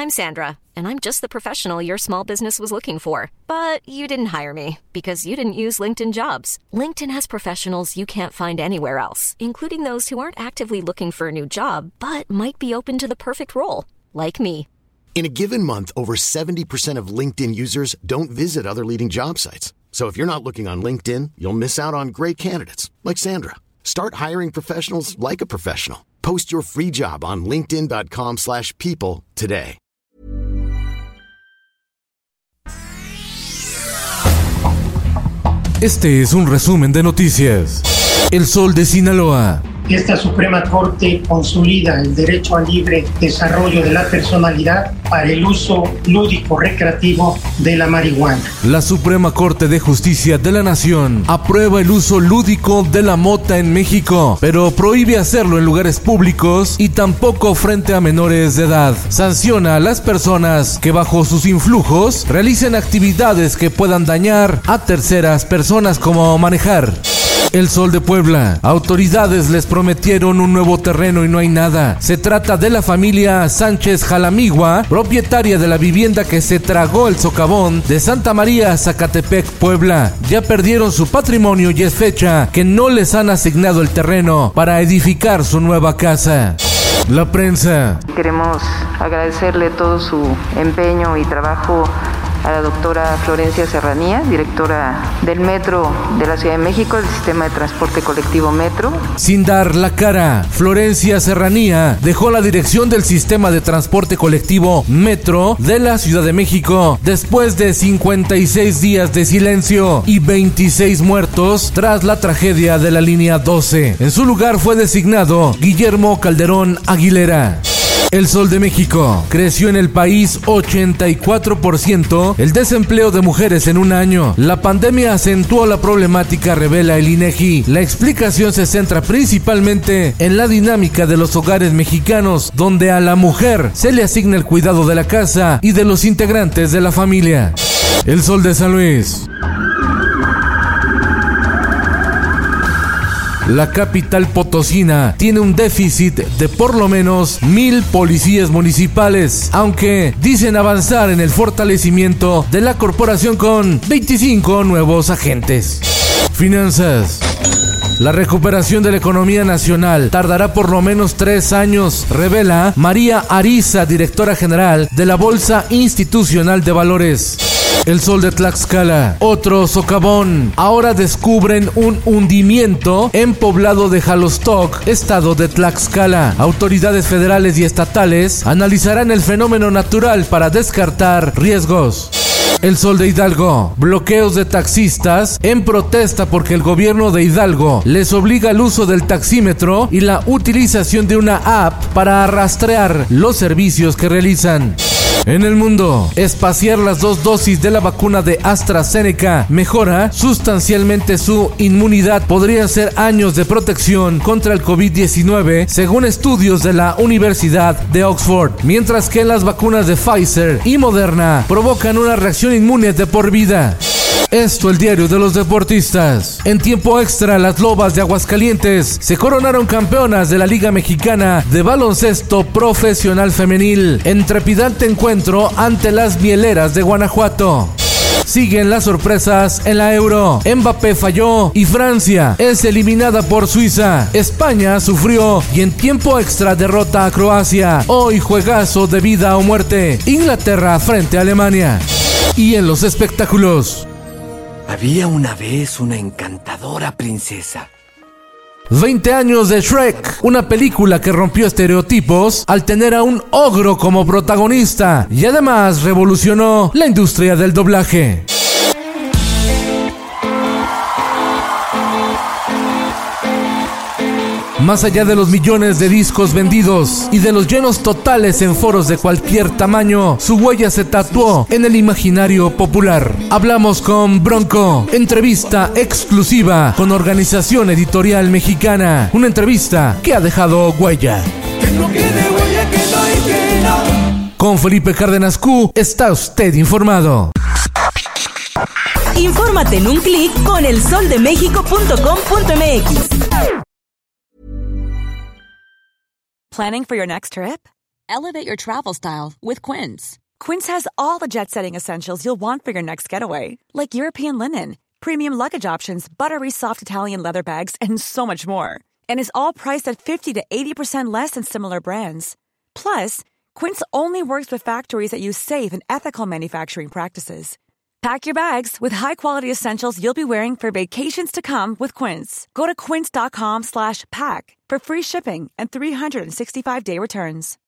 I'm Sandra, and I'm just the professional your small business was looking for. But you didn't hire me because you didn't use LinkedIn Jobs. LinkedIn has professionals you can't find anywhere else, including those who aren't actively looking for a new job, but might be open to the perfect role, like me. In a given month, over 70% of LinkedIn users don't visit other leading job sites. So if you're not looking on LinkedIn, you'll miss out on great candidates like Sandra. Start hiring professionals like a professional. Post your free job on linkedin.com/people today. Este es un resumen de noticias. El Sol de Sinaloa. Esta Suprema Corte consolida el derecho al libre desarrollo de la personalidad para el uso lúdico recreativo de la marihuana. La Suprema Corte de Justicia de la Nación aprueba el uso lúdico de la mota en México, pero prohíbe hacerlo en lugares públicos y tampoco frente a menores de edad. Sanciona a las personas que bajo sus influjos realicen actividades que puedan dañar a terceras personas, como manejar. El Sol de Puebla. Autoridades les prometieron un nuevo terreno y no hay nada. Se trata de la familia Sánchez Jalamigua, propietaria de la vivienda que se tragó el socavón de Santa María, Zacatepec, Puebla. Ya perdieron su patrimonio y es fecha que no les han asignado el terreno para edificar su nueva casa. La prensa. Queremos agradecerle todo su empeño y trabajo a la doctora Florencia Serranía, directora del Metro de la Ciudad de México, del sistema de transporte colectivo Metro. Sin dar la cara, Florencia Serranía dejó la dirección del sistema de transporte colectivo Metro de la Ciudad de México después de 56 días de silencio y 26 muertos tras la tragedia de la línea 12. En su lugar fue designado Guillermo Calderón Aguilera. El Sol de México. Creció en el país 84% el desempleo de mujeres en un año. La pandemia acentuó la problemática, revela el INEGI. La explicación se centra principalmente en la dinámica de los hogares mexicanos, donde a la mujer se le asigna el cuidado de la casa y de los integrantes de la familia. El Sol de San Luis. La capital potosina tiene un déficit de por lo menos 1,000 policías municipales, aunque dicen avanzar en el fortalecimiento de la corporación con 25 nuevos agentes. Finanzas. La recuperación de la economía nacional tardará por lo menos 3 años, revela María Ariza, directora general de la Bolsa Institucional de Valores. El Sol de Tlaxcala. Otro socavón. Ahora descubren un hundimiento en poblado de Jalostoc, estado de Tlaxcala. Autoridades federales y estatales analizarán el fenómeno natural para descartar riesgos. El Sol de Hidalgo. Bloqueos de taxistas en protesta porque el gobierno de Hidalgo les obliga al uso del taxímetro y la utilización de una app para rastrear los servicios que realizan. En el mundo, espaciar las 2 dosis de la vacuna de AstraZeneca mejora sustancialmente su inmunidad. Podrían ser años de protección contra el COVID-19, según estudios de la Universidad de Oxford, mientras que las vacunas de Pfizer y Moderna provocan una reacción inmune de por vida. Esto, el diario de los deportistas. En tiempo extra, las Lobas de Aguascalientes se coronaron campeonas de la Liga Mexicana de Baloncesto Profesional Femenil en trepidante encuentro ante las Mieleras de Guanajuato. Siguen las sorpresas en la Euro. Mbappé falló y Francia es eliminada por Suiza. España sufrió y en tiempo extra derrota a Croacia. Hoy juegazo de vida o muerte. Inglaterra frente a Alemania. Y en los espectáculos. Había una vez una encantadora princesa. 20 años de Shrek, una película que rompió estereotipos al tener a un ogro como protagonista y además revolucionó la industria del doblaje. Más allá de los millones de discos vendidos y de los llenos totales en foros de cualquier tamaño, su huella se tatuó en el imaginario popular. Hablamos con Bronco, entrevista exclusiva con Organización Editorial Mexicana, una entrevista que ha dejado huella. Con Felipe Cárdenas Q, está usted informado. Infórmate en un clic con elsoldemexico.com.mx. Planning for your next trip? Elevate your travel style with Quince. Quince has all the jet-setting essentials you'll want for your next getaway, like European linen, premium luggage options, buttery soft Italian leather bags, and so much more. And is all priced at 50 to 80% less than similar brands. Plus, Quince only works with factories that use safe and ethical manufacturing practices. Pack your bags with high-quality essentials you'll be wearing for vacations to come with Quince. Go to quince.com/pack for free shipping and 365-day returns.